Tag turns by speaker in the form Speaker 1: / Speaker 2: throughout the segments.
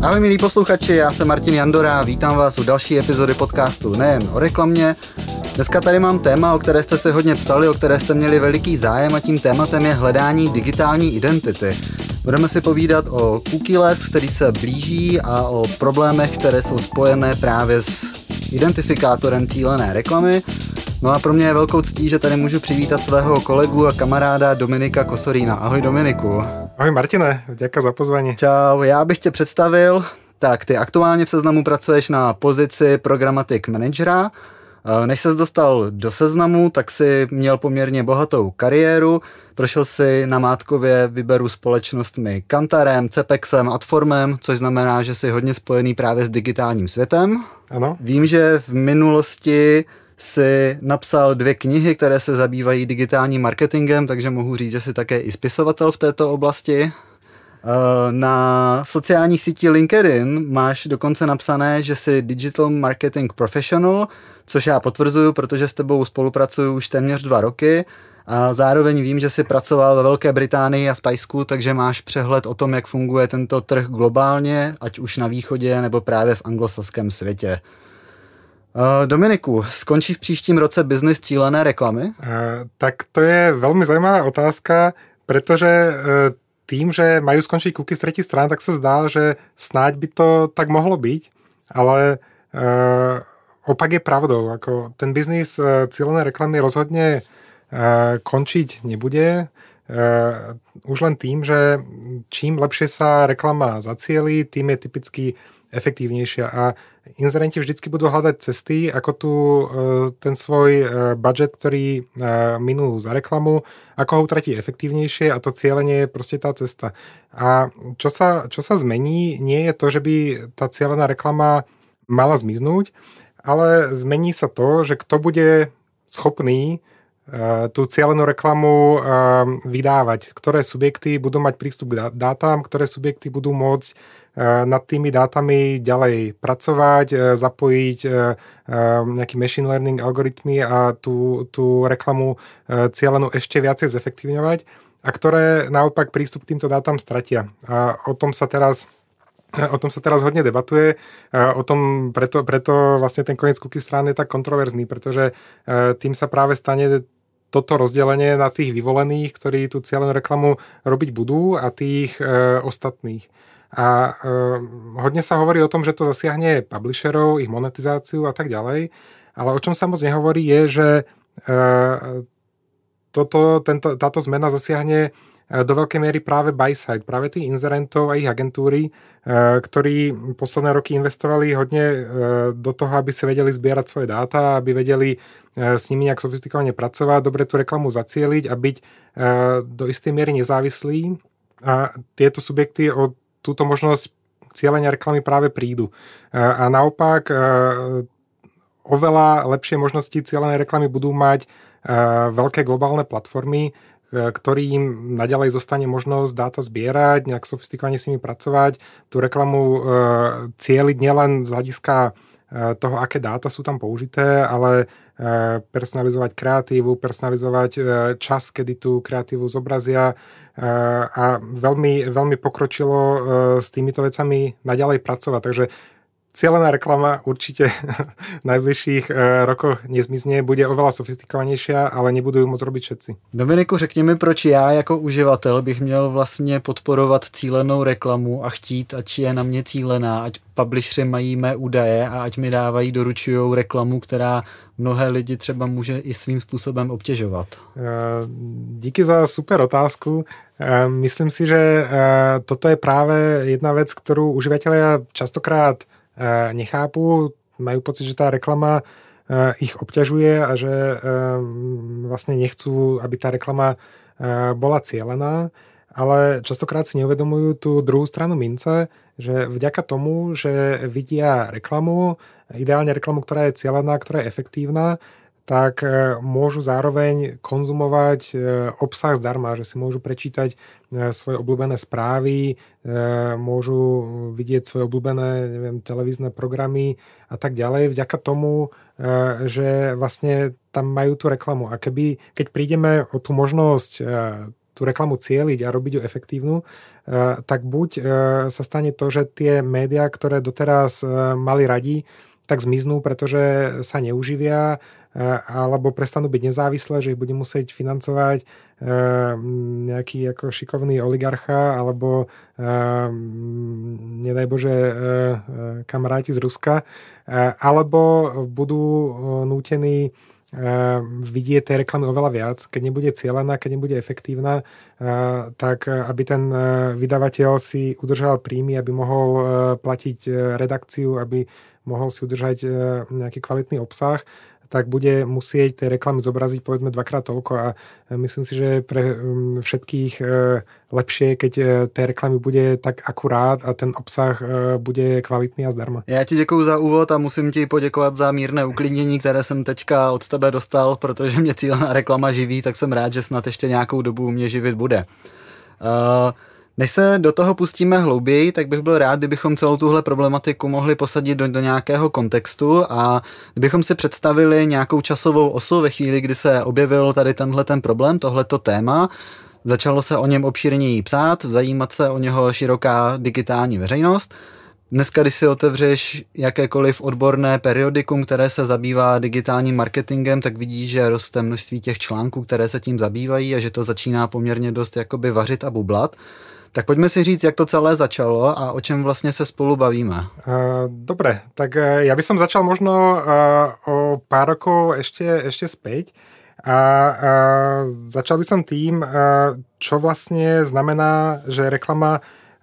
Speaker 1: Ahoj milí posluchači, já jsem Martin Jandora a vítám vás u další epizody podcastu Nejen o reklamě. Dneska tady mám téma, o které jste si hodně psali, o které jste měli veliký zájem a tím tématem je hledání digitální identity. Budeme si povídat o cookieless, který se blíží a o problémech, které jsou spojené právě s identifikátorem cílené reklamy. No a pro mě je velkou ctí, že tady můžu přivítat svého kolegu a kamaráda Dominika Kosorína. Ahoj Dominiku.
Speaker 2: Ahoj Martine, děkuji za pozvání.
Speaker 1: Čau, já bych tě představil. Tak, ty aktuálně v Seznamu pracuješ na pozici Programmatic managera. Než ses dostal do Seznamu, tak si měl poměrně bohatou kariéru. Prošel si namátkově vyberu společnostmi Kantarem, Cepexem, Adformem, což znamená, že jsi hodně spojený právě s digitálním světem.
Speaker 2: Ano.
Speaker 1: Vím, že v minulosti si napsal 2 knihy, které se zabývají digitálním marketingem, takže mohu říct, že jsi také i spisovatel v této oblasti. Na sociální síti LinkedIn máš dokonce napsané, že jsi Digital Marketing Professional, což já potvrzuju, protože s tebou spolupracuju už téměř 2 roky a zároveň vím, že jsi pracoval ve Velké Británii a v Thajsku, takže máš přehled o tom, jak funguje tento trh globálně, ať už na východě nebo právě v anglosaském světě. Dominiku, skončí v příštím roce biznis cílené reklamy?
Speaker 2: Tak to je veľmi zaujímavá otázka, pretože tým, že majú skončiť cookies z tretích strán, tak sa zdá, že snáď by to tak mohlo byť, ale opak je pravdou. Ako ten biznis cílené reklamy rozhodne končiť nebude. Už len tým, že čím lepšie sa reklama zacieli, tým je typicky efektívnejšia a inzerenti vždycky budú hľadať cesty, ako tu ten svoj budget, ktorý minú za reklamu, ako ho utratiť efektívnejšie a to cielenie je proste tá cesta. A čo sa zmení, nie je to, že by tá cielená reklama mala zmiznúť, ale zmení sa to, že kto bude schopný tú cielenú reklamu vydávať, ktoré subjekty budú mať prístup k dátam, ktoré subjekty budú môcť nad tými dátami ďalej pracovať, zapojiť nejaký machine learning algoritmy a tú reklamu cielenú ešte viacej zefektívňovať a ktoré naopak prístup k týmto dátam stratia. A o tom sa teraz hodne debatuje, preto vlastne ten koniec cookie strán je tak kontroverzný, pretože tým sa práve stane toto rozdelenie na tých vyvolených, ktorí tú cieľenú reklamu robiť budú a tých ostatných. A hodne sa hovorí o tom, že to zasiahne publisherov, ich monetizáciu a tak ďalej, ale o čom sa moc nehovorí je, že táto zmena zasiahne do veľkej miery práve buy-side, práve tých inzerentov a ich agentúry, ktorí posledné roky investovali hodne do toho, aby si vedeli zbierať svoje dáta, aby vedeli s nimi nejak sofistikovane pracovať, dobre tú reklamu zacieliť a byť do istej miery nezávislí. A tieto subjekty o túto možnosť cielenia reklamy práve prídu. A naopak oveľa lepšie možnosti cielenej reklamy budú mať veľké globálne platformy, ktorým naďalej zostane možnosť dáta zbierať, nejak sofistikovane s nimi pracovať, tú reklamu cieliť nielen z hľadiska toho, aké dáta sú tam použité, ale personalizovať kreatívu, personalizovať čas, kedy tú kreatívu zobrazia a veľmi, veľmi pokročilo s týmito vecami naďalej pracovať. Takže cielená reklama určite v najbližších rokoch nezmizne, bude oveľa sofistikovanější, ale nebudou ju moc robiť všetci.
Speaker 1: Dominiku, řekni mi, proč já jako uživatel bych měl vlastně podporovat cílenou reklamu a chtít, ať je na mě cílená, ať publishři mají mé údaje a ať mi dávají, doručujou reklamu, která mnohé lidi třeba může i svým způsobem obtěžovat.
Speaker 2: Díky za super otázku. Myslím si, že toto je práve jedna vec, ktorú uživatelia častokrát nechápu, majú pocit, že tá reklama ich obťažuje a že vlastne nechcú, aby tá reklama bola cielená, ale častokrát si neuvedomujú tú druhú stranu mince, že vďaka tomu, že vidia reklamu, ideálne reklamu, ktorá je cielená, ktorá je efektívna, tak môžu zároveň konzumovať obsah zdarma, že si môžu prečítať svoje obľúbené správy, môžu vidieť svoje obľúbené, televízne programy a tak ďalej, vďaka tomu, že vlastne tam majú tú reklamu. A keď prídeme o tú možnosť tú reklamu cieliť a robiť ju efektívnu, tak buď sa stane to, že tie médiá, ktoré doteraz mali radi, tak zmiznú, pretože sa neuživia, alebo prestanú byť nezávislé, že ich bude musieť financovať nejaký ako šikovný oligarcha, alebo nedaj Bože kamaráti z Ruska, alebo budú nútení vidieť tej reklamy oveľa viac. Keď nebude cielená, keď nebude efektívna, tak aby ten vydavateľ si udržal príjmy, aby mohol platiť redakciu, aby mohol si udržať nejaký kvalitný obsah, tak bude musieť tej reklamy zobraziť povedzme dvakrát toľko a myslím si, že pre všetkých lepšie, keď tej reklamy bude tak akurát a ten obsah bude kvalitný a zdarma.
Speaker 1: Já ti děkuju za úvod a musím ti poděkovat za mírné uklidnění, které jsem teďka od tebe dostal, protože mě cílená reklama živí, tak jsem rád, že snad ještě nějakou dobu mě živit bude. Než se do toho pustíme hlouběji, tak bych byl rád, kdybychom celou tuhle problematiku mohli posadit do nějakého kontextu a kdybychom si představili nějakou časovou osu ve chvíli, kdy se objevil tady ten problém, tohleto téma. Začalo se o něm obšírněji psát, zajímat se o něho široká digitální veřejnost. Dneska, když si otevřeš jakékoliv odborné periodikum, které se zabývá digitálním marketingem, tak vidíš, že roste množství těch článků, které se tím zabývají a že to začíná poměrně dost jakoby vařit a bublat. Tak poďme si říct, jak to celé začalo a o čem vlastne sa spolu bavíme.
Speaker 2: Dobre, tak ja by som začal možno o pár rokov ešte späť a začal by som tým, čo vlastne znamená, že reklama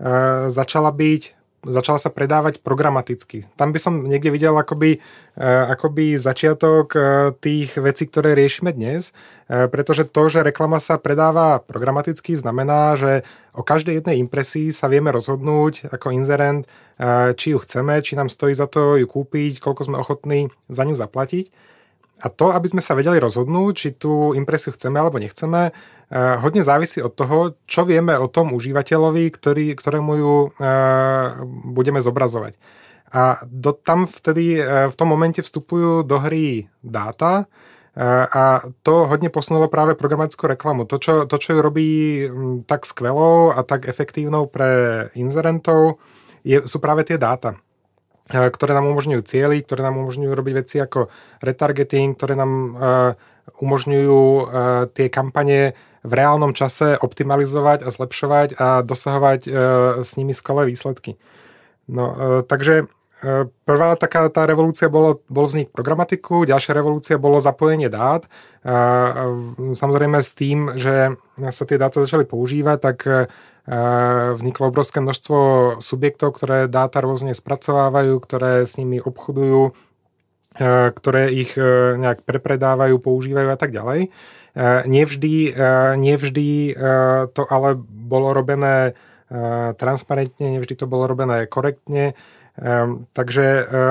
Speaker 2: začala sa predávať programaticky. Tam by som niekde videl akoby začiatok tých vecí, ktoré riešime dnes, pretože to, že reklama sa predáva programaticky, znamená, že o každej jednej impresii sa vieme rozhodnúť ako inzerent, či ju chceme, či nám stojí za to ju kúpiť, koľko sme ochotní za ňu zaplatiť. A to, aby sme sa vedeli rozhodnúť, či tú impresiu chceme alebo nechceme, hodne závisí od toho, čo vieme o tom užívateľovi, ktorému ju budeme zobrazovať. A tam vtedy v tom momente vstupujú do hry dáta a to hodne posunulo práve programatickú reklamu. To, čo ju robí tak skvelou a tak efektívnou pre inzerentov, sú práve tie dáta, ktoré nám umožňujú cieliť, ktoré nám umožňujú robiť veci ako retargeting, ktoré nám umožňujú tie kampane v reálnom čase optimalizovať a zlepšovať a dosahovať s nimi skvelé výsledky. No, takže prvá taká tá revolúcia bol vznik programatiku, ďalšia revolúcia bolo zapojenie dát. Samozrejme s tým, že sa tie dáta začali používať, tak vzniklo obrovské množstvo subjektov, ktoré dáta rôzne spracovávajú, ktoré s nimi obchodujú, ktoré ich nejak prepredávajú, používajú a tak ďalej. Nevždy to ale bolo robené transparentne, nevždy to bolo robené korektne. Takže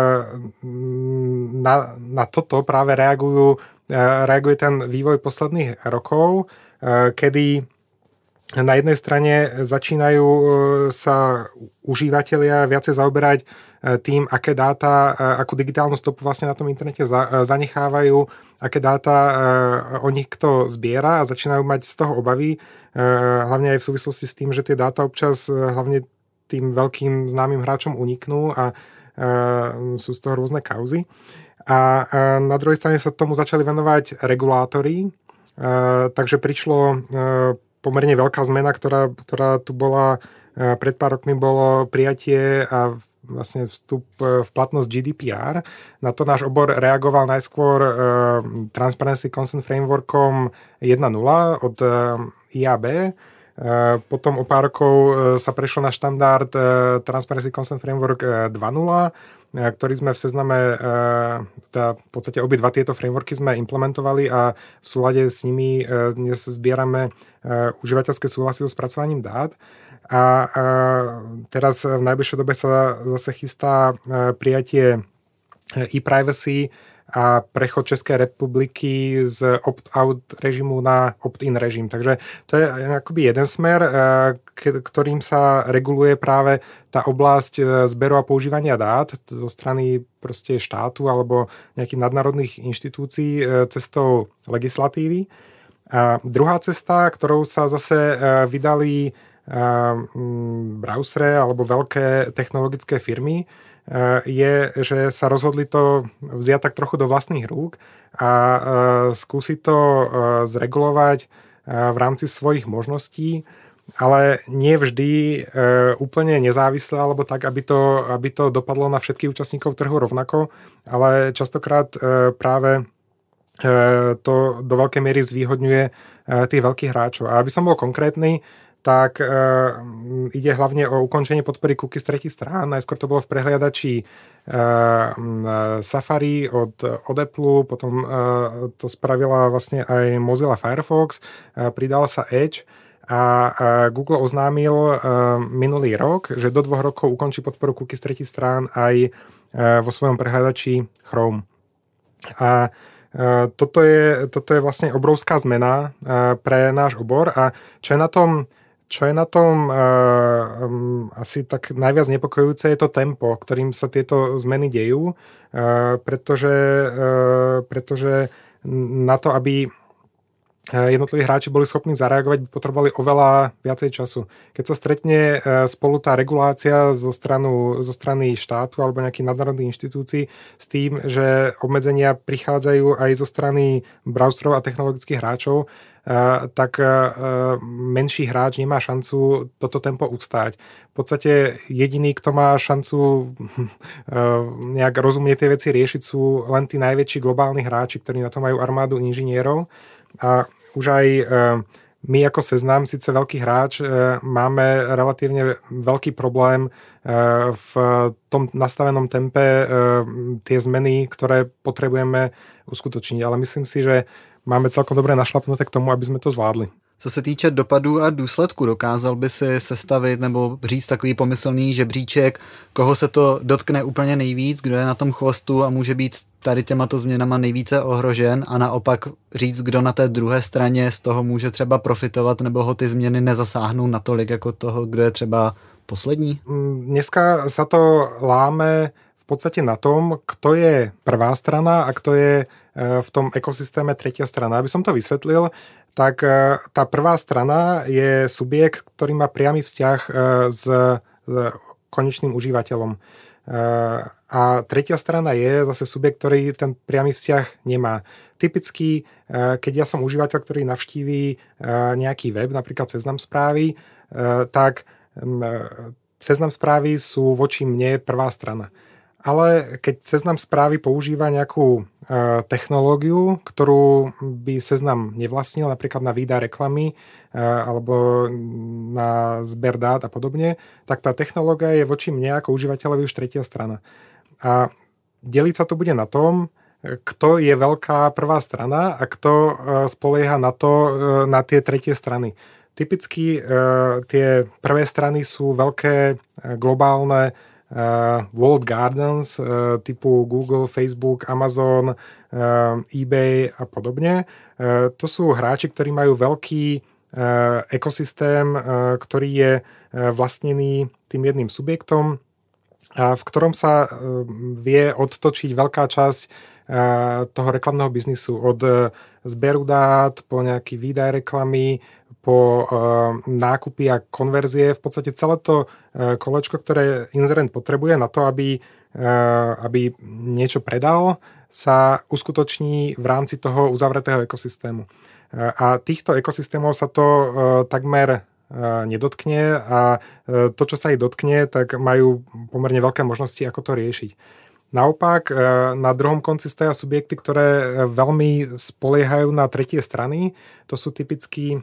Speaker 2: na toto práve reaguje ten vývoj posledných rokov, kedy na jednej strane začínajú sa užívateľia viacej zaoberať tým, aké dáta, akú digitálnu stopu vlastne na tom internete zanechávajú, aké dáta o nich kto zbiera a začínajú mať z toho obavy, hlavne aj v súvislosti s tým, že tie dáta občas hlavne tým veľkým známym hráčom uniknú a sú z toho rôzne kauzy. A na druhej strane sa tomu začali venovať regulátori, takže prišlo pomerne veľká zmena, ktorá tu bola pred pár rokmi, bolo prijatie a vlastne vstup v platnosť GDPR. Na to náš obor reagoval najskôr Transparency Consent Frameworkom 1.0 od IAB. Potom o pár rokov sa prešlo na štandard Transparency Consent Framework 2.0, ktorý sme v Sezname, v podstate obidva tieto frameworky sme implementovali a v súlade s nimi dnes zbierame užívateľské súhlasy so spracovaním dát. A teraz v najbližšej dobe sa zase chystá prijatie e-privacy a prechod Českej republiky z opt-out režimu na opt-in režim. Takže to je akoby jeden smer, ktorým sa reguluje práve tá oblasť zberu a používania dát zo strany proste štátu alebo nejakých nadnárodných inštitúcií cestou legislatívy. A druhá cesta, ktorou sa zase vydali browsere alebo veľké technologické firmy, je, že sa rozhodli to vziať tak trochu do vlastných rúk a skúsiť to zregulovať v rámci svojich možností, ale nie vždy úplne nezávisle, alebo tak, aby to dopadlo na všetkých účastníkov trhu rovnako, ale častokrát práve to do veľkej miery zvýhodňuje tých veľkých hráčov. A aby som bol konkrétny, tak ide hlavne o ukončenie podpory cookies tretích strán. Najskôr to bolo v prehliadači Safari od Apple, potom to spravila vlastne aj Mozilla Firefox, pridal sa Edge a Google oznámil minulý rok, že do 2 rokov ukončí podporu cookies tretích strán aj vo svojom prehliadači Chrome. A toto je vlastne obrovská zmena pre náš obor a čo je na tom asi tak najviac nepokojujúce je to tempo, ktorým sa tieto zmeny dejú, pretože na to, aby jednotliví hráči boli schopní zareagovať, by potrebovali oveľa viacej času. Keď sa stretne spolu tá regulácia zo strany štátu alebo nejakých nadnárodných inštitúcií s tým, že obmedzenia prichádzajú aj zo strany browserov a technologických hráčov, tak menší hráč nemá šancu toto tempo ustáť. V podstate jediný, kto má šancu nejak rozumne tie veci riešiť, sú len tí najväčší globálni hráči, ktorí na to majú armádu inžinierov. A už aj my ako Seznam, síce veľký hráč, máme relatívne veľký problém v tom nastavenom tempe tie zmeny, ktoré potrebujeme uskutočniť. Ale myslím si, že máme celkom dobre našlapnuté k tomu, aby sme to zvládli.
Speaker 1: Co se týče dopadů a důsledku, dokázal by si sestavit nebo říct takový pomyslný žebříček, koho se to dotkne úplně nejvíc, kdo je na tom chvostu a může být tady těmato změnama nejvíce ohrožen a naopak říct, kdo na té druhé straně z toho může třeba profitovat nebo ho ty změny nezasáhnou natolik jako toho, kdo je třeba poslední?
Speaker 2: Dneska sa to láme v podstate na tom, kto je prvá strana a kto je v tom ekosystéme tretia strana. Aby som to vysvetlil, tak tá prvá strana je subjekt, ktorý má priamy vzťah s konečným užívateľom. A tretia strana je zase subjekt, ktorý ten priamy vzťah nemá. Typicky, keď ja som užívateľ, ktorý navštíví nejaký web, napríklad Seznam správy, tak Seznam správy sú voči mne prvá strana. Ale keď Seznam správy používa nejakú technológiu, ktorú by Seznam nevlastnil, napríklad na výdaj reklamy alebo na zber dát a podobne, tak tá technológia je voči mne ako užívateľovi už tretia strana. A deliť sa to bude na tom, kto je veľká prvá strana a kto spolieha na tie tretie strany. Typicky tie prvé strany sú veľké globálne walled gardens typu Google, Facebook, Amazon, eBay a podobne. To sú hráči, ktorí majú veľký ekosystém, ktorý je vlastnený tým jedným subjektom, v ktorom sa vie odtočiť veľká časť toho reklamného biznisu od zberu dát po nejaký výdaj reklamy, po nákupy a konverzie. V podstate celé to kolečko, ktoré inzerent potrebuje na to, aby niečo predal, sa uskutoční v rámci toho uzavretého ekosystému. A týchto ekosystémov sa to takmer nedotkne a to, čo sa ich dotkne, tak majú pomerne veľké možnosti, ako to riešiť. Naopak, na druhom konci stoja subjekty, ktoré veľmi spoliehajú na tretie strany. To sú typicky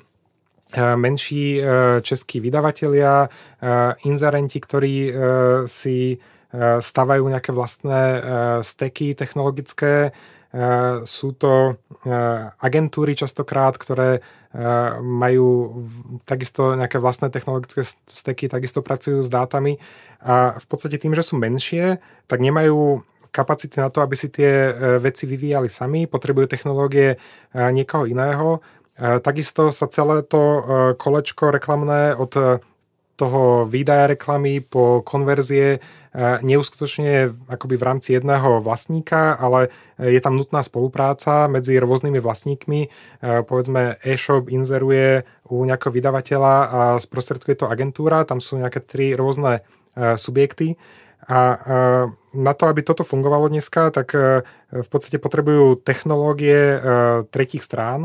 Speaker 2: menší českí vydavatelia, inzerenti, ktorí si stavajú nejaké vlastné steky technologické. Sú to agentúry častokrát, ktoré majú takisto nejaké vlastné technologické steky, takisto pracujú s dátami a v podstate tým, že sú menšie, tak nemajú kapacity na to, aby si tie veci vyvíjali sami, potrebujú technológie niekoho iného. Takisto sa celé to kolečko reklamné od toho výdaja reklamy po konverzie neuskutočňuje akoby v rámci jedného vlastníka, ale je tam nutná spolupráca medzi rôznymi vlastníkmi. Povedzme, e-shop inzeruje u nejakého vydavateľa a sprostredkuje to agentúra, tam sú nejaké 3 rôzne subjekty. A na to, aby toto fungovalo dneska, tak v podstate potrebujú technológie tretích strán.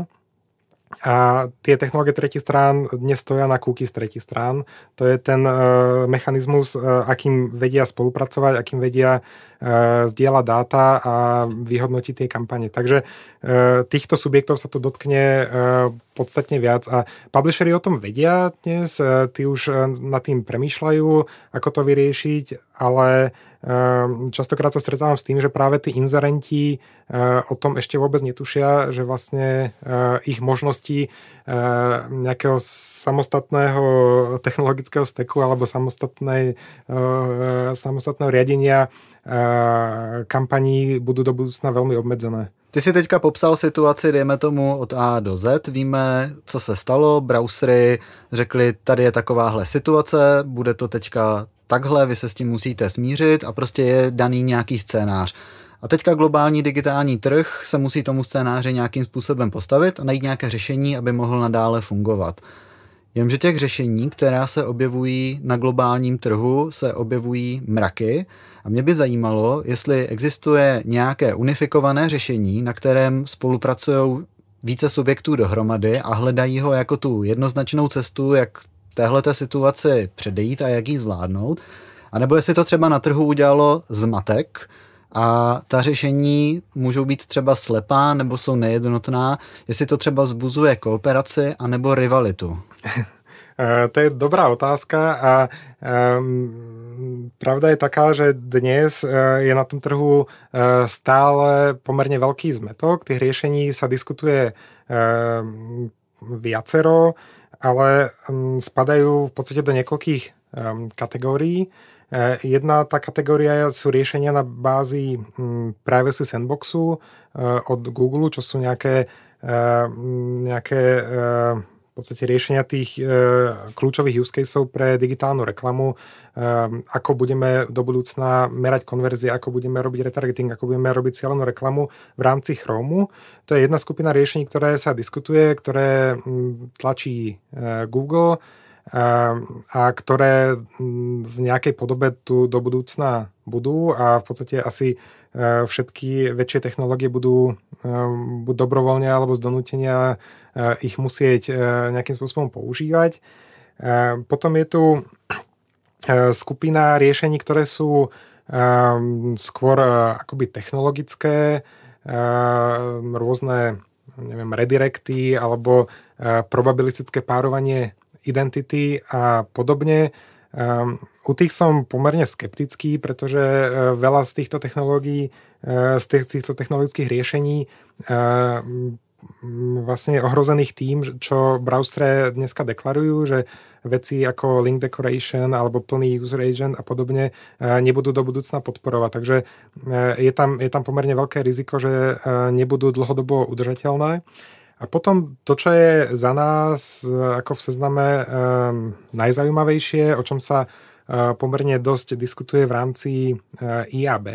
Speaker 2: A tie technológie tretích strán dnes stoja na cookies tretích strán. To je ten mechanizmus, akým vedia spolupracovať, akým vedia zdieľať dáta a vyhodnotiť tie kampane. Takže týchto subjektov sa to dotkne podstatne viac. A publisheri o tom vedia dnes, tí už nad tým premýšľajú, ako to vyriešiť, ale častokrát sa stretávam s tým, že práve tí inzerenti o tom ešte vôbec netušia, že vlastne ich možnosti nejakého samostatného technologického steku alebo samostatného riadenia kampaní budú do budúcna veľmi obmedzené.
Speaker 1: Ty si teďka popsal situaci, dejme tomu, od A do Z. Víme, co se stalo. Browsery řekli, tady je takováhle situace, bude to teďka takhle, vy se s tím musíte smířit a prostě je daný nějaký scénář. A teďka globální digitální trh se musí tomu scénáři nějakým způsobem postavit a najít nějaké řešení, aby mohl nadále fungovat. Jenže těch řešení, která se objevují na globálním trhu, se objevují mraky a mě by zajímalo, jestli existuje nějaké unifikované řešení, na kterém spolupracují více subjektů dohromady a hledají ho jako tu jednoznačnou cestu, jak téhleté situaci předejít a jak ji zvládnout. A nebo jestli to třeba na trhu udělalo zmatek a ta řešení můžou být třeba slepá nebo jsou nejednotná, jestli to třeba vzbuzuje kooperaci a nebo rivalitu.
Speaker 2: To je dobrá otázka a pravda je taká, že dnes je na tom trhu stále pomerne veľký zmetok. Tých riešení sa diskutuje viacero, ale spadajú v podstate do niekoľkých kategórií. Jedna tá kategória sú riešenia na bázi Privacy Sandboxu od Google, čo sú nejaké v podstate riešenia tých kľúčových use caseov pre digitálnu reklamu, ako budeme do budúcna merať konverzie, ako budeme robiť retargeting, ako budeme robiť cieľenú reklamu v rámci Chromu. To je jedna skupina riešení, ktoré sa diskutuje, ktoré tlačí Google a ktoré v nejakej podobe tu do budúcna budú a v podstate asi všetky väčšie technológie budú buď dobrovoľne alebo z donútenia ich musieť nejakým spôsobom používať. Potom je tu skupina riešení, ktoré sú skôr akoby technologické, rôzne redirecty alebo probabilistické párovanie identity a podobne. U tých som pomerne skeptický, pretože veľa z týchto technológií, z týchto technologických riešení vlastne ohrozených tým, čo browsere dneska deklarujú, že veci ako link decoration alebo plný user agent a podobne nebudú do budúcna podporovať. Takže je tam pomerne veľké riziko, že nebudú dlhodobo udržateľné. A potom to, čo je za nás ako v sezname najzaujímavejšie, o čom sa pomerne dosť diskutuje v rámci IAB,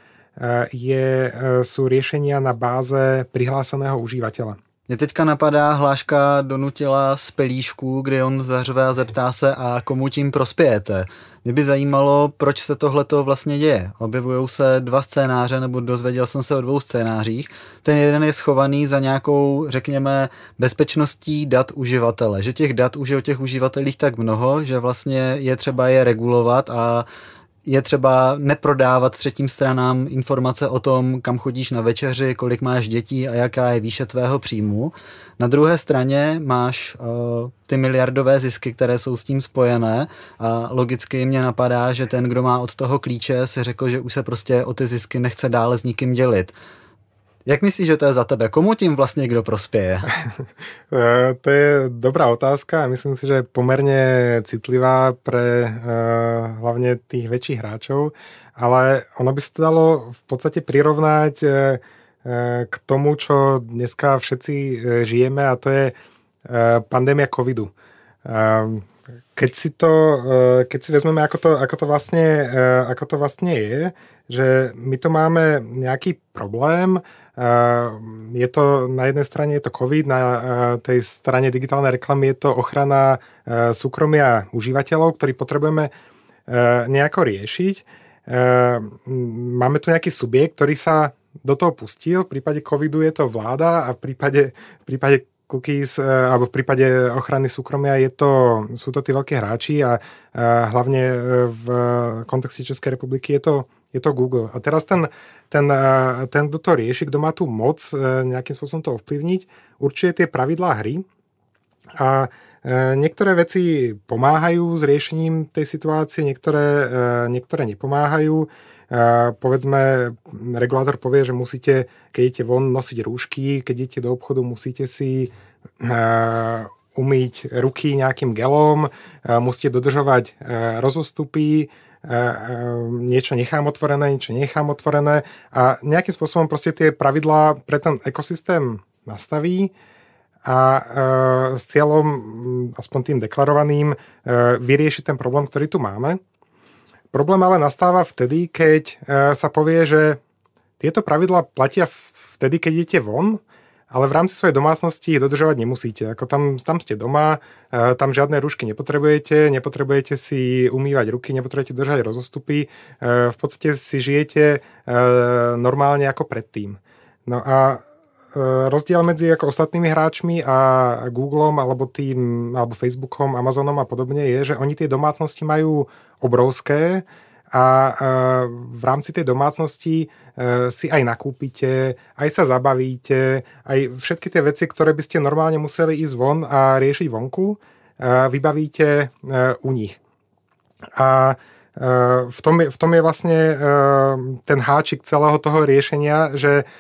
Speaker 2: sú riešenia na báze prihláseného užívateľa.
Speaker 1: Mě teďka napadá, Hláška donutila z pelíšku, kdy on zařve a zeptá se, a komu tím prospějete. Mě by zajímalo, proč se tohleto vlastně děje. Objevujou se 2 scénáře, nebo dozvěděl jsem se o 2 scénářích. Ten jeden je schovaný za nějakou, řekněme, bezpečností dat uživatele. Že těch dat už je o těch uživatelích tak mnoho, že vlastně je třeba je regulovat a je třeba neprodávat třetím stranám informace o tom, kam chodíš na večeři, kolik máš dětí a jaká je výše tvého příjmu. Na druhé straně máš ty miliardové zisky, které jsou s tím spojené a logicky mě napadá, že ten, kdo má od toho klíče, si řekl, že už se prostě o ty zisky nechce dále s nikým dělit. Jak myslíš, že to je za tebe? Komu tím vlastně kdo prospieje?
Speaker 2: To je dobrá otázka a myslím si, že je pomerne citlivá pre hlavne tých väčších hráčov, ale ono by sa to dalo v podstate prirovnať k tomu, čo dneska všetci žijeme, a to je pandémia covidu. Keď si vezmeme, ako to vlastne je, že my tu máme nejaký problém, je to na jednej strane je to COVID, na tej strane digitálnej reklamy je to ochrana súkromia užívateľov, ktorí potrebujeme nejako riešiť. Máme tu nejaký subjekt, ktorý sa do toho pustil, v prípade covidu je to vláda a v prípade cookies, alebo v prípade ochrany súkromia sú to tí veľkí hráči a hlavne v kontexte Českej republiky je to Google. A teraz ten, kto to rieši, kto má tú moc nejakým spôsobom to ovplyvniť, určuje tie pravidlá hry a niektoré veci pomáhajú s riešením tej situácie, niektoré nepomáhajú. Povedzme, regulátor povie, že musíte, keď idete von, nosiť rúšky, keď idete do obchodu, musíte si umyť ruky nejakým gelom, musíte dodržovať rozostupy, niečo nechám otvorené a nejakým spôsobom proste tie pravidlá pre ten ekosystém nastaví a s cieľom, aspoň tým deklarovaným, vyriešiť ten problém, ktorý tu máme. Problém ale nastáva vtedy, keď sa povie, že tieto pravidlá platia vtedy, keď idete von, ale v rámci svojej domácnosti ich dodržovať nemusíte. Ako tam ste doma, tam žiadne rúšky nepotrebujete si umývať ruky, nepotrebujete držať rozostupy, v podstate si žijete normálne ako predtým. No a rozdiel medzi ako ostatnými hráčmi a Googlom alebo Facebookom, Amazonom a podobne je, že oni tie domácnosti majú obrovské a v rámci tej domácnosti si aj nakúpite, aj sa zabavíte, aj všetky tie veci, ktoré by ste normálne museli ísť von a riešiť vonku, vybavíte u nich. A v tom je vlastne ten háčik celého toho riešenia, že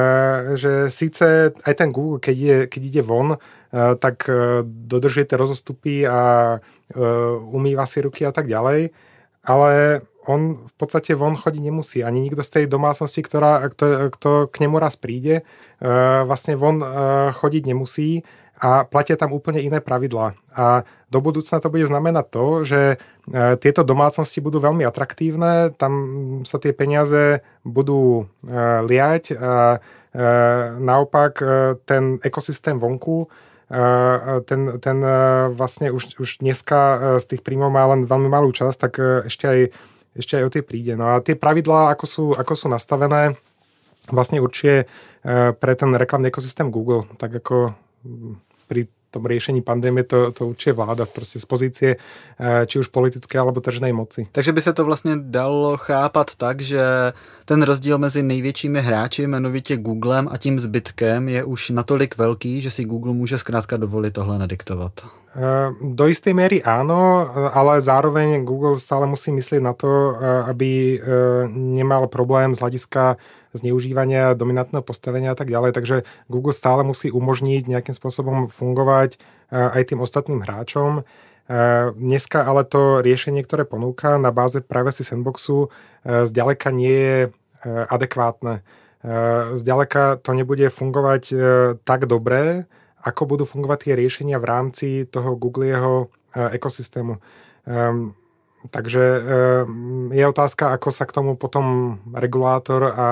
Speaker 2: síce aj ten Google, keď ide von, tak dodržujete rozostupy a umýva si ruky a tak ďalej, ale on v podstate von chodiť nemusí. Ani nikto z tej domácnosti, kto k nemu raz príde, vlastne von chodiť nemusí a platia tam úplne iné pravidlá. A do budúcna to bude znamenať to, že tieto domácnosti budú veľmi atraktívne, tam sa tie peniaze budú liať a naopak ten ekosystém vonku, ten vlastne už dneska z tých príjmov má len veľmi malú časť, tak ešte aj o tie príde. No a tie pravidlá, ako sú nastavené, vlastne určuje pre ten reklamný ekosystém Google, tak ako pri tom riešení pandémie to určuje vláda proste z pozície či už politické alebo tržnej moci.
Speaker 1: Takže by se to vlastně dalo chápat tak, že ten rozdíl mezi největšími hráči, jmenovitě Googlem a tím zbytkem je už natolik velký, že si Google může zkrátka dovolit tohle nadiktovat.
Speaker 2: Do istej miery áno, ale zároveň Google stále musí myslieť na to, aby nemal problém z hľadiska zneužívania, dominantného postavenia a tak ďalej. Takže Google stále musí umožniť nejakým spôsobom fungovať aj tým ostatným hráčom. Dneska ale to riešenie, ktoré ponúka na báze Privacy Sandboxu, zďaleka nie je adekvátne. Zďaleka to nebude fungovať tak dobre, ako budú fungovať tie riešenia v rámci toho Googleho ekosystému. Takže je otázka, ako sa k tomu potom regulátor a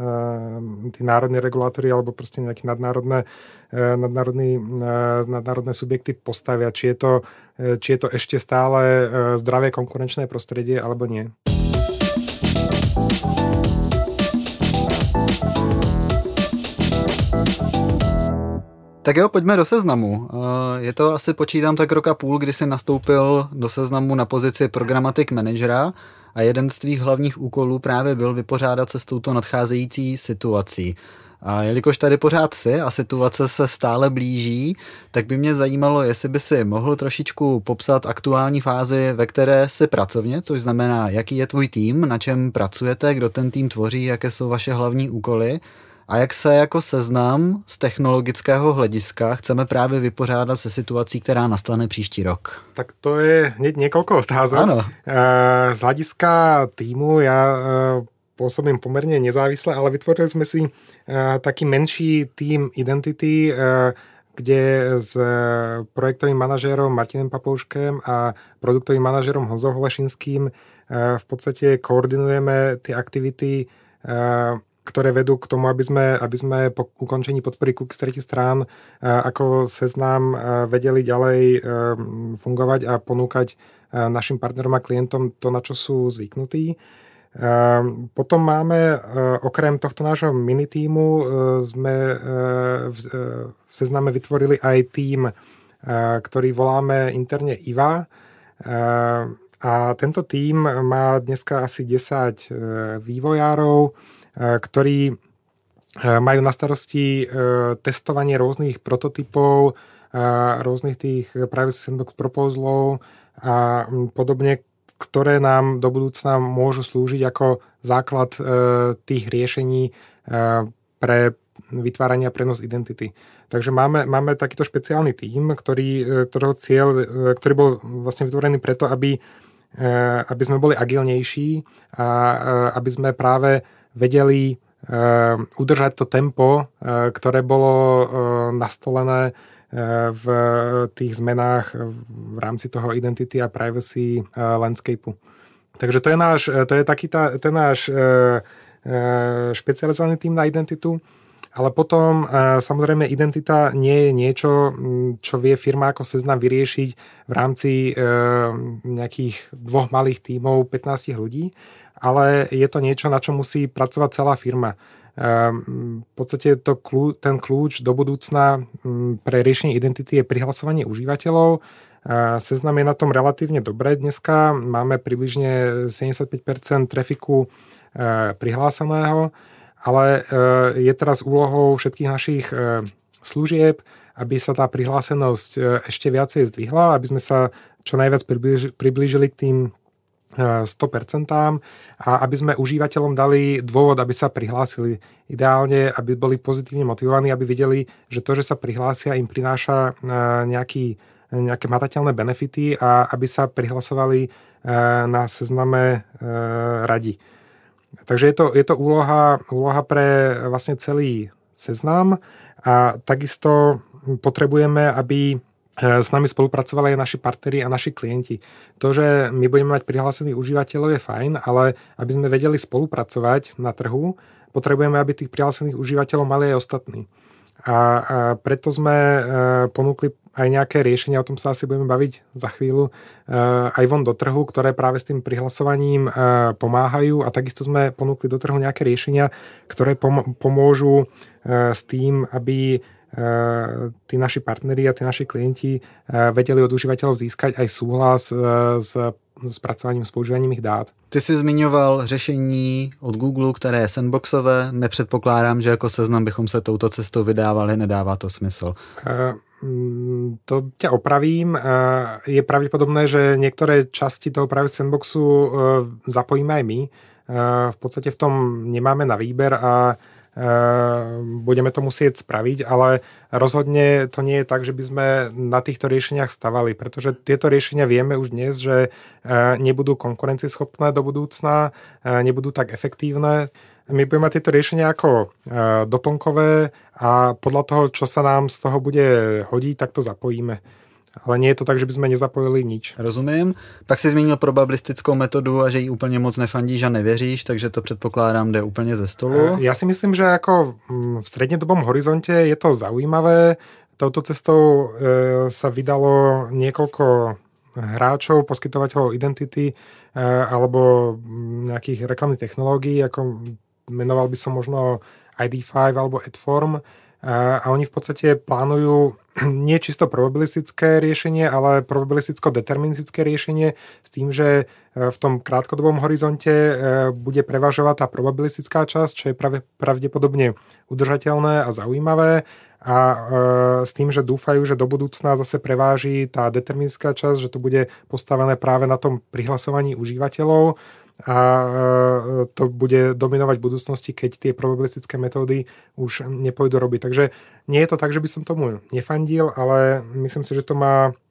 Speaker 2: tí národní regulátori alebo proste nejaké nadnárodné subjekty postavia. Či je to ešte stále zdravé konkurenčné prostredie alebo nie.
Speaker 1: Tak jo, pojďme do Seznamu. Je to asi, počítám, tak rok a půl, kdy jsi nastoupil do Seznamu na pozici Programmatic Managera a jeden z tvých hlavních úkolů právě byl vypořádat se s touto nadcházející situací. A jelikož tady pořád jsi a situace se stále blíží, tak by mě zajímalo, jestli by si mohl trošičku popsat aktuální fázi, ve které jsi pracovně, což znamená, jaký je tvůj tým, na čem pracujete, kdo ten tým tvoří, jaké jsou vaše hlavní úkoly. A jak se jako Seznam z technologického hlediska chceme právě vypořádat se situací, která nastane příští rok?
Speaker 2: Tak to je hneď niekoľko otázok.
Speaker 1: Áno.
Speaker 2: Z hľadiska týmu ja pôsobím pomerne nezávisle, ale vytvorili sme si taký menší tým Identity, kde s projektovým manažérom Martinem Papouškem a produktovým manažérom Honzou Holešinským v podstate koordinujeme tie aktivity, ktoré vedú k tomu, aby sme po ukončení podpory cookies tretích strán ako Seznam vedeli ďalej fungovať a ponúkať našim partnerom a klientom to, na čo sú zvyknutí. Potom máme, okrem tohto nášho mini tímu, sme v Sezname vytvorili aj tím, ktorý voláme interne IVA. A tento tím má dneska asi 10 vývojárov, ktorí majú na starosti testovanie rôznych prototypov, rôznych tých privacy sandbox proposalov a podobne, ktoré nám do budúcna môžu slúžiť ako základ tých riešení pre vytváranie a prenos identity. Takže máme takýto špeciálny tím, ktorého cieľ, ktorý bol vlastne vytvorený preto, aby sme boli agilnejší a aby sme práve vedeli udržať to tempo, ktoré bolo nastolené v tých zmenách v rámci toho identity a privacy landscapeu. Takže to je taký ten náš špecializovaný tým na identitu. Ale potom samozrejme identita nie je niečo, čo vie firma ako Seznam vyriešiť v rámci nejakých 2 malých tímov 15 ľudí, ale je to niečo, na čo musí pracovať celá firma. V podstate ten kľúč do budúcna pre riešenie identity je prihlasovanie užívateľov. Seznam je na tom relatívne dobre dneska. Máme približne 75% trafiku prihláseného, ale je teraz úlohou všetkých našich služieb, aby sa tá prihlásenosť ešte viacej zdvihla, aby sme sa čo najviac priblížili k tým 100% a aby sme užívateľom dali dôvod, aby sa prihlásili. Ideálne, aby boli pozitívne motivovaní, aby videli, že to, že sa prihlásia, im prináša nejaké hmatateľné benefity a aby sa prihlasovali na Sezname radi. Takže je to úloha pre vlastne celý Seznam a takisto potrebujeme, aby s nami spolupracovali aj naši partneri a naši klienti. To, že my budeme mať prihlásených užívateľov je fajn, ale aby sme vedeli spolupracovať na trhu, potrebujeme, aby tých prihlásených užívateľov mali aj ostatní. A preto sme ponúkli aj nejaké riešenia, o tom sa asi budeme baviť za chvíľu, aj von do trhu, ktoré práve s tým prihlasovaním pomáhajú a takisto sme ponúkli do trhu nejaké riešenia, ktoré pomôžu s tým, aby tí naši partneri a tí naši klienti vedeli od užívateľov získať aj súhlas s spracovaním, s používaním ich dát.
Speaker 1: Ty jsi zmiňoval řešení od Google, které je sandboxové. Nepředpokládám, že jako Seznam bychom se touto cestou vydávali, nedává to smysl.
Speaker 2: To ťa opravím. Je pravdepodobné, že niektoré časti toho privacy sandboxu zapojíme aj my. V podstate v tom nemáme na výber a budeme to musieť spraviť, ale rozhodne to nie je tak, že by sme na týchto riešeniach stavali, pretože tieto riešenia vieme už dnes, že nebudú konkurencieschopné do budúcna, nebudú tak efektívne. My budeme mať tieto riešenia ako doplnkové a podľa toho, čo sa nám z toho bude hodiť, tak to zapojíme. Ale nie je to tak, že by sme nezapojili nič.
Speaker 1: Rozumím. Pak si zmínil probabilistickou metodu a že jí úplně moc nefandíš a nevěříš, takže to předpokládám jde úplně ze stolu.
Speaker 2: Ja si myslím, že ako v strednodobom horizonte je to zaujímavé. Touto cestou sa vydalo niekoľko hráčov, poskytovateľov identity alebo nejakých reklamných technológií, ako menoval by som možno ID5 alebo Adform. A oni v podstate plánujú nie čisto probabilistické riešenie, ale probabilisticko-deterministické riešenie s tým, že v tom krátkodobom horizonte bude prevažovať tá probabilistická časť, čo je pravdepodobne udržateľné a zaujímavé a s tým, že dúfajú, že do budúcna zase preváži tá deterministická časť, že to bude postavené práve na tom prihlasovaní užívateľov a to bude dominovať v budúcnosti, keď tie probabilistické metódy už nepôjdu robiť. Takže nie je to tak, že by som tomu nefandil, ale myslím si, že to má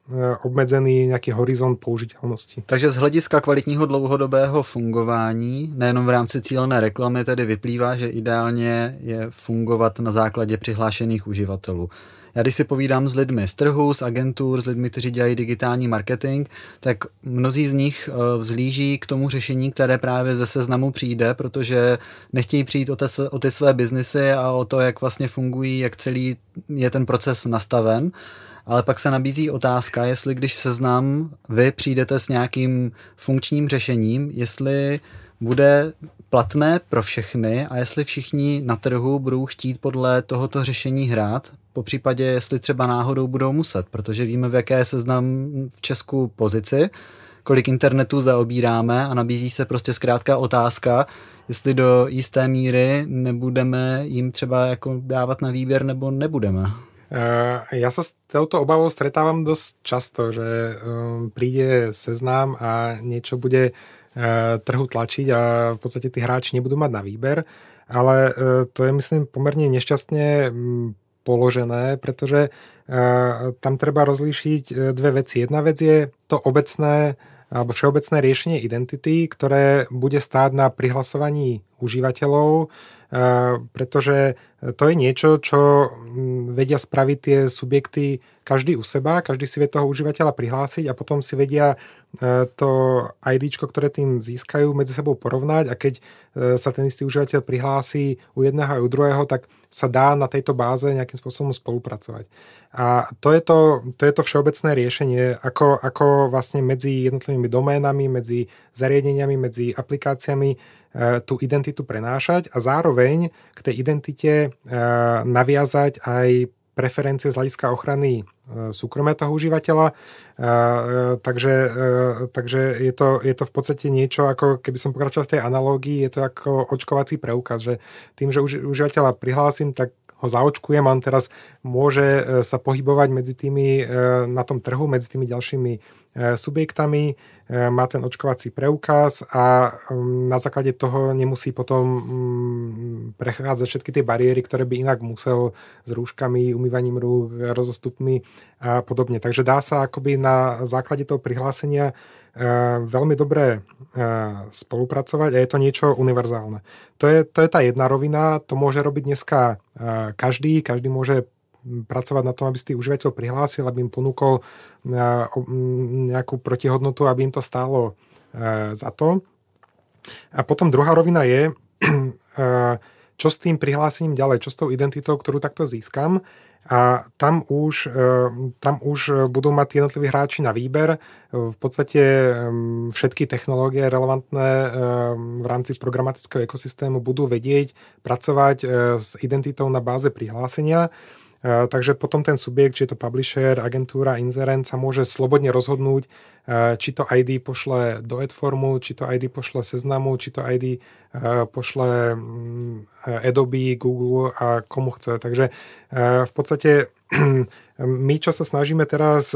Speaker 2: obmedzený nejaký horizont použiteľnosti.
Speaker 1: Takže z hlediska kvalitního dlouhodobého fungování, nejenom v rámci cílené reklamy, tedy vyplývá, že ideálně je fungovat na základě přihlášených uživatelů. Já když si povídám s lidmi z trhu, z agentur, s lidmi, kteří dělají digitální marketing, tak mnozí z nich vzhlíží k tomu řešení, které právě ze seznamu přijde, protože nechtějí přijít o ty své biznesy a o to, jak vlastně fungují, jak celý je ten proces nastaven. Ale pak se nabízí otázka, jestli když seznam vy přijdete s nějakým funkčním řešením, jestli bude platné pro všechny a jestli všichni na trhu budou chtít podle tohoto řešení hrát, popřípadě jestli třeba náhodou budou muset, protože víme, v jaké je seznam v Česku pozici, kolik internetu zaobíráme a nabízí se prostě zkrátka otázka, jestli do jisté míry nebudeme jim třeba jako dávat na výběr nebo nebudeme.
Speaker 2: Ja sa s touto obavou stretávam dosť často, že príde seznam a niečo bude trhu tlačiť a v podstate tí hráči nebudú mať na výber, ale to je myslím pomerne nešťastne položené, pretože tam treba rozlíšiť dve veci. Jedna vec je to obecné alebo všeobecné riešenie identity, ktoré bude stáť na prihlasovaní užívateľov, pretože to je niečo, čo vedia spraviť tie subjekty každý u seba, každý si vie toho užívateľa prihlásiť a potom si vedia to IDčko, ktoré tým získajú, medzi sebou porovnať a keď sa ten istý užívateľ prihlási u jedného a u druhého, tak sa dá na tejto báze nejakým spôsobom spolupracovať. A to je to všeobecné riešenie, ako vlastne medzi jednotlivými doménami, medzi zariadeniami, medzi aplikáciami tú identitu prenášať a zároveň k tej identite naviazať aj preferencie z hľadiska ochrany súkromia toho užívateľa. Takže je to v podstate niečo, ako keby som pokračoval v tej analógii, je to ako očkovací preukaz, že tým, že užívateľa prihlásim, tak ho zaočkujem a on teraz môže sa pohybovať medzi tými na tom trhu, medzi tými ďalšími subjektami, má ten očkovací preukaz a na základe toho nemusí potom prechádzať všetky tie bariéry, ktoré by inak musel s rúškami, umývaním rúk, rozostupmi a podobne. Takže dá sa akoby na základe toho prihlásenia veľmi dobre spolupracovať a je to niečo univerzálne. To je tá jedna rovina, to môže robiť dneska každý môže pracovať na tom, aby si tých užívateľov prihlásil, aby im ponúkol nejakú protihodnotu, aby im to stálo za to. A potom druhá rovina je, čo s tým prihlásením ďalej, čo s tou identitou, ktorú takto získam. A tam už budú mať jednotliví hráči na výber. V podstate všetky technológie relevantné v rámci programatického ekosystému budú vedieť pracovať s identitou na báze prihlásenia. Takže potom ten subjekt, či je to publisher, agentúra, inzerent, sa môže slobodne rozhodnúť, či to ID pošle do adformu, či to ID pošle seznamu, či to ID pošle Adobe, Google a komu chce. Takže v podstate my, čo sa snažíme teraz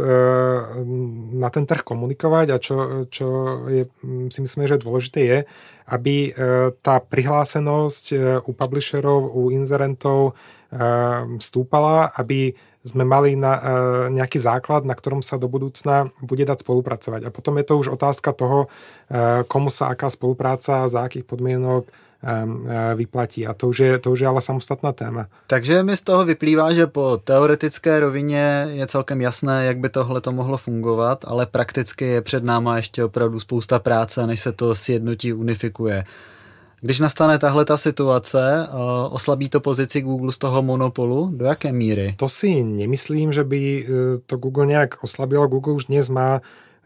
Speaker 2: na ten trh komunikovať a čo je, si myslíme, že dôležité je, aby tá prihlásenosť u publisherov, u inzerentov stúpala, aby sme mali nejaký základ, na ktorom sa do budúcna bude dať spolupracovať. A potom je to už otázka toho, komu sa aká spolupráca, za akých podmienok vyplatí. A to už je ale samostatná téma.
Speaker 1: Takže mi z toho vyplývá, že po teoretické rovině je celkem jasné, jak by tohle to mohlo fungovat, ale prakticky je před náma ještě opravdu spousta práce, než se to sjednotí, unifikuje. Když nastane tahle ta situace, oslabí to pozici Google z toho monopolu? Do jaké míry?
Speaker 2: To si nemyslím, že by to Google nejak oslabilo. Google už dnes má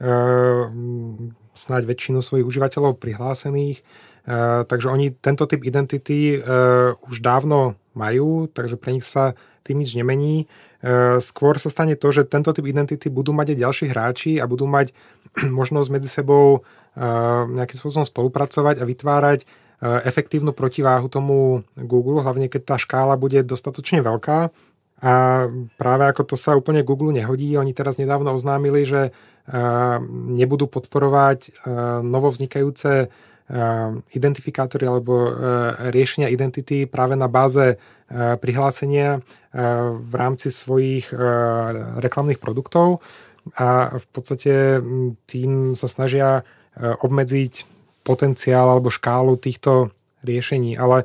Speaker 2: snáď väčšinu svojich užívateľov prihlásených, takže oni tento typ identity už dávno majú, takže pre nich sa tým nič nemení. Skôr sa stane to, že tento typ identity budú mať aj ďalší hráči a budú mať možnosť medzi sebou nejakým spôsobom spolupracovať a vytvárať efektívnu protiváhu tomu Google, hlavne keď tá škála bude dostatočne veľká. A práve ako to sa úplne Google nehodí, oni teraz nedávno oznámili, že nebudú podporovať novovznikajúce identifikátory alebo riešenia identity práve na báze prihlásenia v rámci svojich reklamných produktov. a v podstate tým sa snažia obmedziť potenciál alebo škálu týchto riešení, ale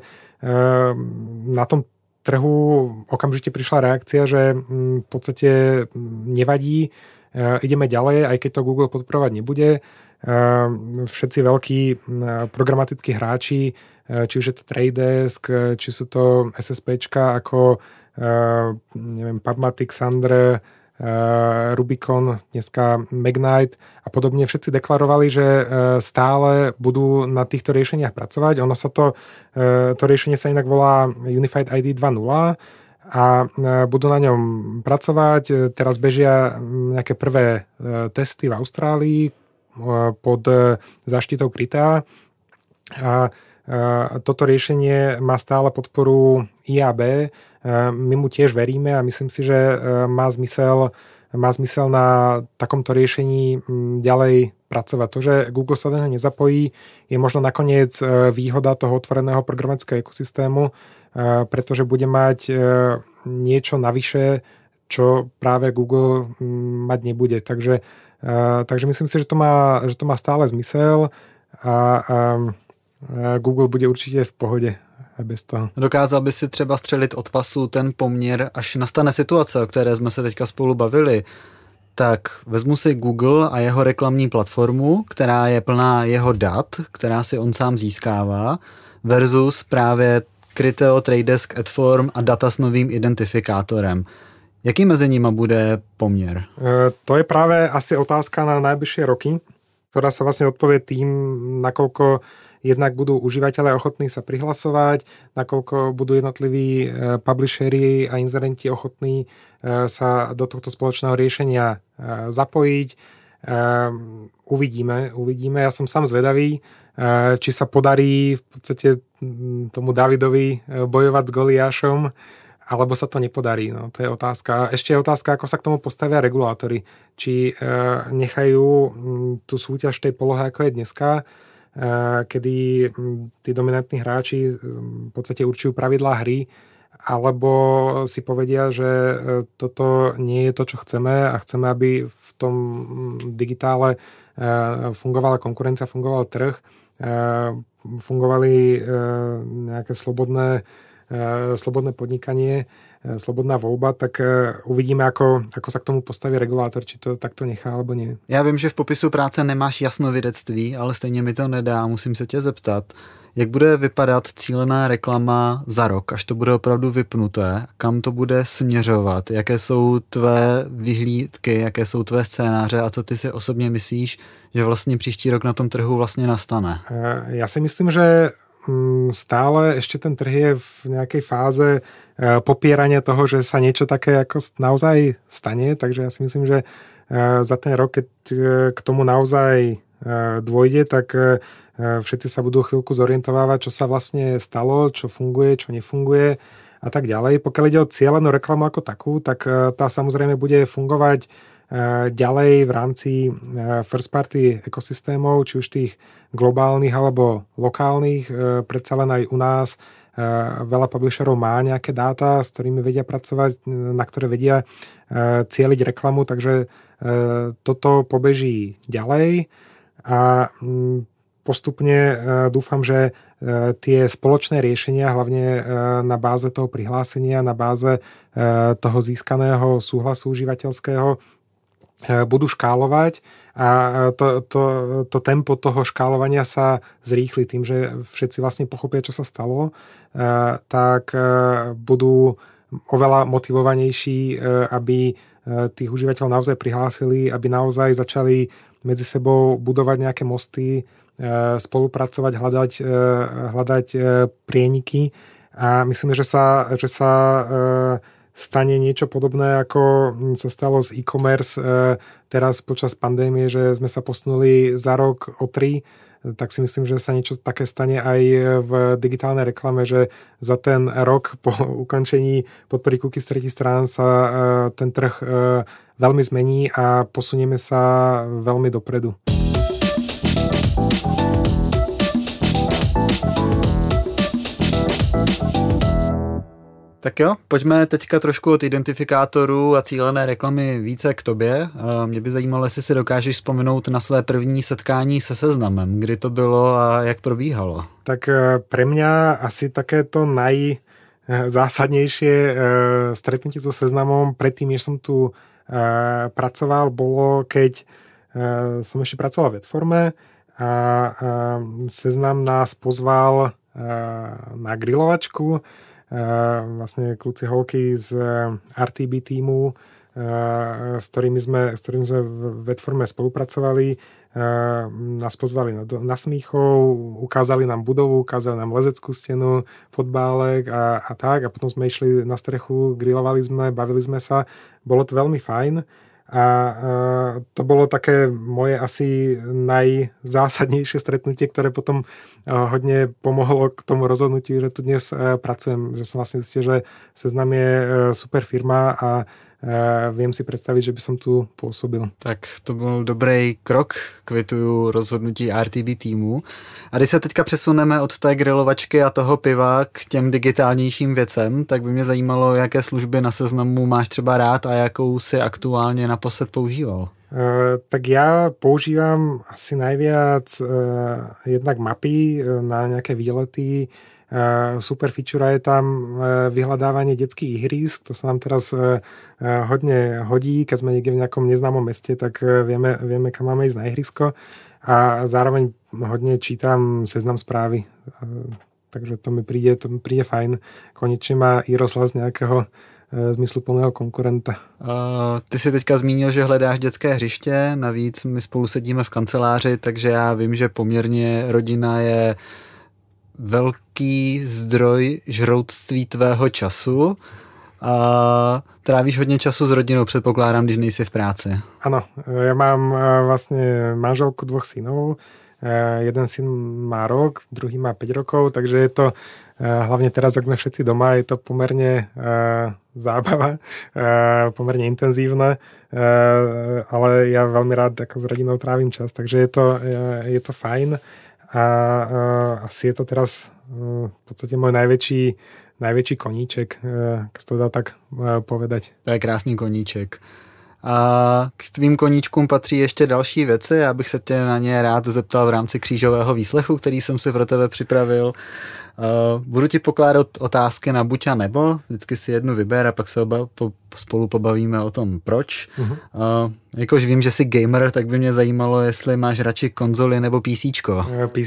Speaker 2: na tom trhu okamžite prišla reakcia, že v podstate nevadí, ideme ďalej, aj keď to Google podporovať nebude. Všetci veľkí programatickí hráči, či už je to Trade Desk, či sú to SSPčka ako neviem, PubMatic, Sandr, Rubicon, dneska Magnite a podobne, všetci deklarovali, že stále budú na týchto riešeniach pracovať. Ono sa to riešenie sa inak volá Unified ID 2.0 a budú na ňom pracovať. Teraz bežia nejaké prvé testy v Austrálii pod záštitou Krita a toto riešenie má stále podporu IAB. My mu tiež veríme a myslím si, že má zmysel na takomto riešení ďalej pracovať. To, že Google sa do neho nezapojí, je možno nakoniec výhoda toho otvoreného programatického ekosystému, pretože bude mať niečo navyše, čo práve Google mať nebude. Takže myslím si, že to má stále zmysel a Google bude určitě v pohodě bez toho.
Speaker 1: Dokázal by si třeba střelit od pasu ten poměr, až nastane situace, o které jsme se teďka spolu bavili, tak vezmu si Google a jeho reklamní platformu, která je plná jeho dat, která si on sám získává, versus právě Criteo, Trade Desk, Adform a data s novým identifikátorem. Jaký mezi nimi bude poměr?
Speaker 2: To je práve asi otázka na najbližšie roky, ktorá sa vlastne odpovie tým, nakoľko jednak budú užívateľe ochotní sa prihlasovať, nakoľko budú jednotliví publisheri a inzerenti ochotní sa do tohto spoločného riešenia zapojiť. Uvidíme. Ja som sám zvedavý, či sa podarí v podstate tomu Davidovi bojovať s Goliášom, alebo sa to nepodarí. No, to je otázka. Ešte je otázka, ako sa k tomu postavia regulátori. Či nechajú tú súťaž v tej polohe, ako je dneska, kedy tí dominantní hráči v podstate určujú pravidlá hry, alebo si povedia, že toto nie je to, čo chceme a chceme, aby v tom digitále fungovala konkurencia, fungoval trh, fungovali nejaké slobodné podnikanie, slobodná voľba, tak uvidíme, ako sa k tomu postaví regulátor, či to takto nechá, alebo nie.
Speaker 1: Já vím, že v popisu práce nemáš jasnovidectví, ale stejně mi to nedá, musím se tě zeptat. Jak bude vypadat cílená reklama za rok, až to bude opravdu vypnuté? Kam to bude směřovat? Jaké jsou tvé vyhlídky, jaké jsou tvé scénáře a co ty si osobně myslíš, že vlastně příští rok na tom trhu vlastně nastane?
Speaker 2: Ja si myslím, že stále ešte ten trh je v nejakej fáze popierania toho, že sa niečo také ako naozaj stane, takže ja si myslím, že za ten rok, keď k tomu naozaj dôjde, tak všetci sa budú chvíľku zorientovávať, čo sa vlastne stalo, čo funguje, čo nefunguje a tak ďalej. Pokiaľ ide o cieľenú reklamu ako takú, tak tá samozrejme bude fungovať ďalej v rámci first party ekosystémov, či už tých globálnych alebo lokálnych. Predsa len aj u nás veľa publisherov má nejaké dáta, s ktorými vedia pracovať, na ktoré vedia cieliť reklamu, takže toto pobeží ďalej a postupne dúfam, že tie spoločné riešenia, hlavne na báze toho prihlásenia, na báze toho získaného súhlasu užívateľského, budú škálovať a to tempo toho škálovania sa zrýchli tým, že všetci vlastne pochopia, čo sa stalo, tak budú oveľa motivovanejší, aby tých užívateľov naozaj prihlásili, aby naozaj začali medzi sebou budovať nejaké mosty, spolupracovať, hľadať prieniky a myslím, že sa stane niečo podobné, ako sa stalo z e-commerce teraz počas pandémie, že sme sa posunuli za rok o 3, tak si myslím, že sa niečo také stane aj v digitálnej reklame, že za ten rok po ukončení podpory cookies z tretích strán sa ten trh veľmi zmení a posunieme sa veľmi dopredu.
Speaker 1: Tak jo, pojďme teďka trošku od identifikátorů a cílené reklamy více k tobě. Mě by zajímalo, jestli si dokážeš vzpomenout na své první setkání se Seznamem. Kdy to bylo a jak probíhalo?
Speaker 2: Tak pre mňa asi takéto najzásadnejšie stretnutie so Seznamom predtým, než som tu pracoval, bolo, keď som ešte pracoval v Vetforme a Seznam nás pozval na grilovačku. Vlastne kluci holky z RTB týmu, s ktorými sme v Vetforme spolupracovali, nás pozvali na Smíchov, ukázali nám budovu, ukázali nám lezeckú stenu, fotbálek a tak. A potom sme išli na strechu, grilovali sme, bavili sme sa. Bolo to veľmi fajn. A to bolo také moje asi najzásadnejšie stretnutie, ktoré potom hodne pomohlo k tomu rozhodnutiu, že tu dnes pracujem. Že som vlastne zistil, že Seznam je super firma a viem si predstaviť, že by som tu pôsobil.
Speaker 1: Tak to byl dobrý krok, kvituju rozhodnutí RTB týmu. A když se teďka přesuneme od té grilovačky a toho piva k těm digitálnějším věcem, tak by mě zajímalo, jaké služby na Seznamu máš třeba rád a jakou si aktuálně naposled používal.
Speaker 2: Tak ja používam asi najviac jednak mapy na nejaké výlety. Super feature je tam vyhľadávanie detských ihrísk, to sa nám teraz hodne hodí, keď sme niekde v nejakom neznámom meste, tak vieme kam máme ísť na ihrisko a zároveň hodne čítam Seznam správy, takže to mi príde fajn. Konečne má iRozhlas nejakého zmysluplného konkurenta.
Speaker 1: Ty jsi teďka zmínil, že hledáš dětské hřiště, navíc my spolu sedíme v kanceláři, takže já vím, že poměrně rodina je velký zdroj žroutství tvého času a trávíš hodně času s rodinou, předpokládám, když nejsi v práci.
Speaker 2: Áno, ja mám vlastne manželku, 2 synov. Jeden syn má rok, druhý má 5 rokov, takže je to hlavne teraz, ak sme všetci doma, je to pomerne zábava, pomerne intenzívne, ale ja veľmi rád ako s rodinou trávim čas, takže je to fajn a asi je to teraz v podstate môj najväčší koníček, keď to dá tak povedať.
Speaker 1: To je krásný koníček. A k tvým koníčkům patří ještě další věci. Já bych se tě na ně rád zeptal v rámci křížového výslechu, který jsem si pro tebe připravil. Budu ti pokládat otázky na buď a nebo. Vždycky si jednu vyber a pak se spolu pobavíme o tom, proč. Jakož vím, že jsi gamer, tak by mě zajímalo, jestli máš radši konzoli nebo PCčko.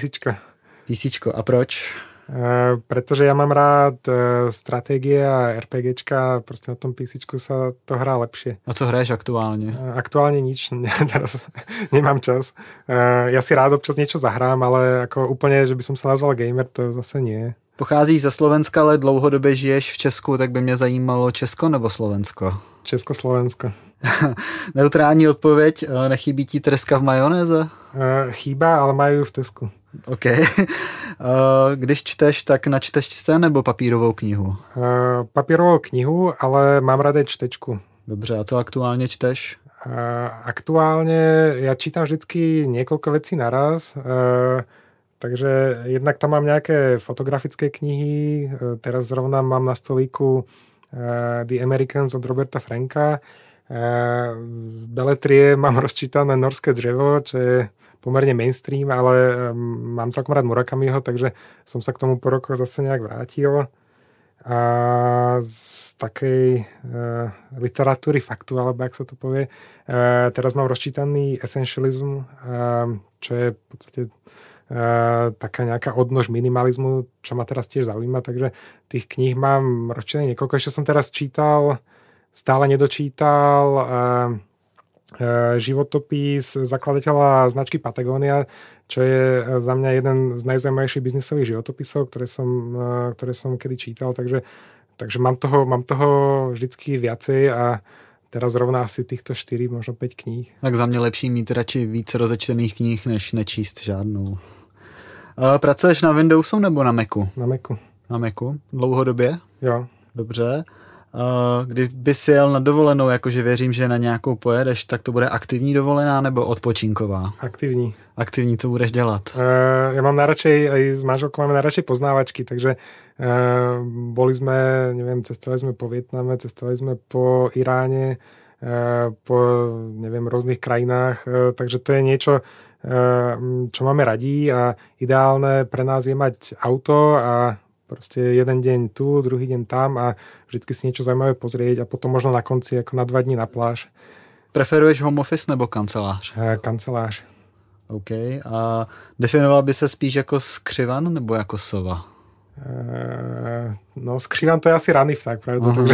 Speaker 1: PCčko. A proč?
Speaker 2: Pretože ja mám rád stratégie a RPGčka, proste na tom PCčku sa to hrá lepšie.
Speaker 1: A co hraješ aktuálne?
Speaker 2: Aktuálne nič, teraz nemám čas. Ja si rád občas niečo zahrám, ale ako úplne, že by som sa nazval gamer, to zase nie.
Speaker 1: Pocházíš ze Slovenska, ale dlouhodobě žiješ v Česku, tak by mě zajímalo Česko nebo Slovensko?
Speaker 2: Československo.
Speaker 1: Neutrální odpověď, nechybí ti treska v majonéze?
Speaker 2: Chýba, ale majú v Tesku.
Speaker 1: OK. Když čteš, tak na čtečce nebo papírovou knihu?
Speaker 2: Papírovou knihu, ale mám rád aj čtečku.
Speaker 1: Dobře, a co aktuálně čteš?
Speaker 2: Aktuálne ja čítam vždycky niekoľko vecí naraz, takže jednak tam mám nejaké fotografické knihy, teraz zrovna mám na stolíku The Americans od Roberta Franka, beletrie mám rozčítané Norské dřevo, čo je pomerne mainstream, ale mám celkom rád Murakamiho, takže som sa k tomu po rokoch zase nejak vrátil. A z takej literatúry faktu, alebo jak sa to povie, teraz mám rozčítaný Essentialism, čo je v podstate taká nejaká odnož minimalizmu, čo ma teraz tiež zaujíma, takže tých kníh mám rozčítané niekoľko. Ešte som teraz čítal, stále nedočítal životopis zakladateľa značky Patagonia, čo je za mňa jeden z najzaujímavejších biznisových životopisov, ktoré som kedy čítal, takže mám toho vždycky viacej a teraz zrovna asi týchto 4, možno 5 kníh.
Speaker 1: Tak za mě lepší mít radši víc rozečtených knih, než nečíst žádnou. Pracuješ na Windowsu nebo na Macu?
Speaker 2: Na Macu.
Speaker 1: Na Macu? Dlouhodobě?
Speaker 2: Jo.
Speaker 1: Dobře. Kdyby si jel na dovolenou, jakože věřím, že na nějakou pojedeš, tak to bude aktivní dovolená nebo odpočinková?
Speaker 2: Aktivní.
Speaker 1: Aktivní, co budeš dělat?
Speaker 2: Ja mám najradšej, aj s manželkou máme najradšej poznávačky, takže boli sme, neviem, cestovali sme po Vietname, cestovali sme po Iráne, po, neviem, rôznych krajinách, takže to je niečo, čo máme radi a ideálne pre nás je mať auto a proste jeden deň tu, druhý deň tam a vždycky si niečo zaujímavé pozrieť a potom možno na konci ako na 2 dní na pláž.
Speaker 1: Preferuješ home office nebo kancelář?
Speaker 2: Kancelář.
Speaker 1: OK. A definoval by se spíš jako skřivan nebo jako sova?
Speaker 2: No skřivan to je asi ranný vták, pravda? Takže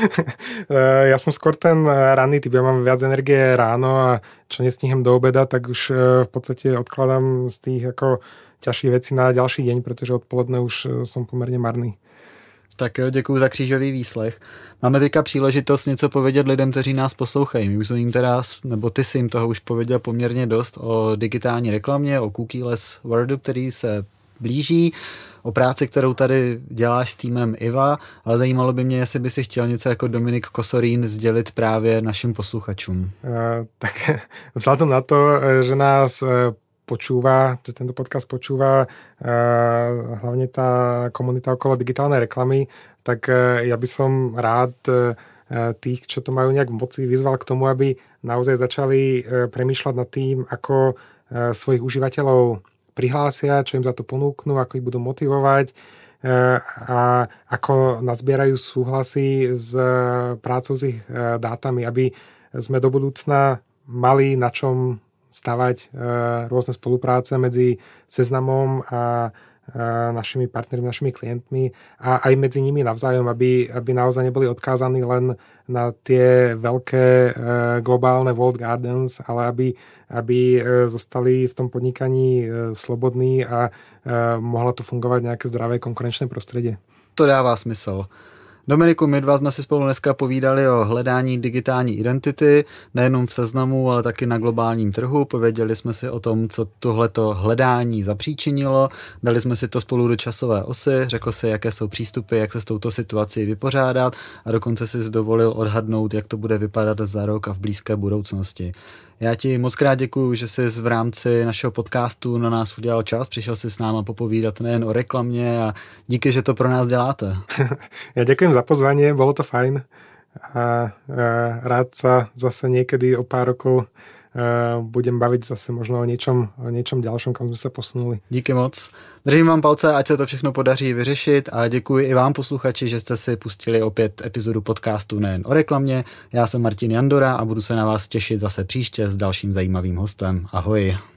Speaker 2: ja som skôr ten ranný typ, ja mám viac energie ráno a čo nestihnem do obeda, tak už v podstate odkladám z tých ako ťažších vecí na ďalší deň, pretože odpoledne už som pomerne marný.
Speaker 1: Tak jo, děkuju za křížový výslech. Máme teďka příležitost něco povědět lidem, kteří nás poslouchají. My už jsme jim teda, nebo ty jsi jim toho už pověděl poměrně dost o digitální reklamě, o cookieless worldu, který se blíží, o práci, kterou tady děláš s týmem IVA, ale zajímalo by mě, jestli by si chtěl něco jako Dominik Kosorín sdělit právě našim posluchačům.
Speaker 2: Tak vzhľadom na to, že nás počúva, že tento podcast počúva hlavne tá komunita okolo digitálnej reklamy, tak ja by som rád tých, čo to majú nejak v moci, vyzval k tomu, aby naozaj začali premýšľať nad tým, ako svojich užívateľov prihlásia, čo im za to ponúknú, ako ich budú motivovať a ako nazbierajú súhlasy s prácou s ich dátami, aby sme do budúcna mali na čom stavať rôzne spolupráce medzi Seznamom a našimi partnermi, našimi klientmi a aj medzi nimi navzájom, aby naozaj neboli odkázaní len na tie veľké globálne walled gardens, ale aby zostali v tom podnikaní slobodní a mohlo to fungovať nejaké zdravé konkurenčné prostredie.
Speaker 1: To dává smysl. Dominiku, my dva jsme si spolu dneska povídali o hledání digitální identity, nejenom v Seznamu, ale taky na globálním trhu. Pověděli jsme si o tom, co tohleto hledání zapříčinilo, dali jsme si to spolu do časové osy, řekl si, jaké jsou přístupy, jak se s touto situací vypořádat a dokonce si dovolil odhadnout, jak to bude vypadat za rok a v blízké budoucnosti. Já ti moc krát děkuju, že jsi v rámci našeho podcastu na nás udělal čas, přišel si s náma popovídat nejen o reklamě a díky, že to pro nás děláte.
Speaker 2: Ja ďakujem za pozvanie, bolo to fajn a rád sa zase niekedy o pár rokov budem baviť zase možno o niečom ďalšom, kam sme sa posunuli.
Speaker 1: Díky moc. Držím vám palce, ať se to všechno podaří vyřešit a děkuji i vám posluchači, že jste si pustili opět epizodu podcastu nejen o reklamě. Já jsem Martin Jandora a budu se na vás těšit zase příště s dalším zajímavým hostem. Ahoj.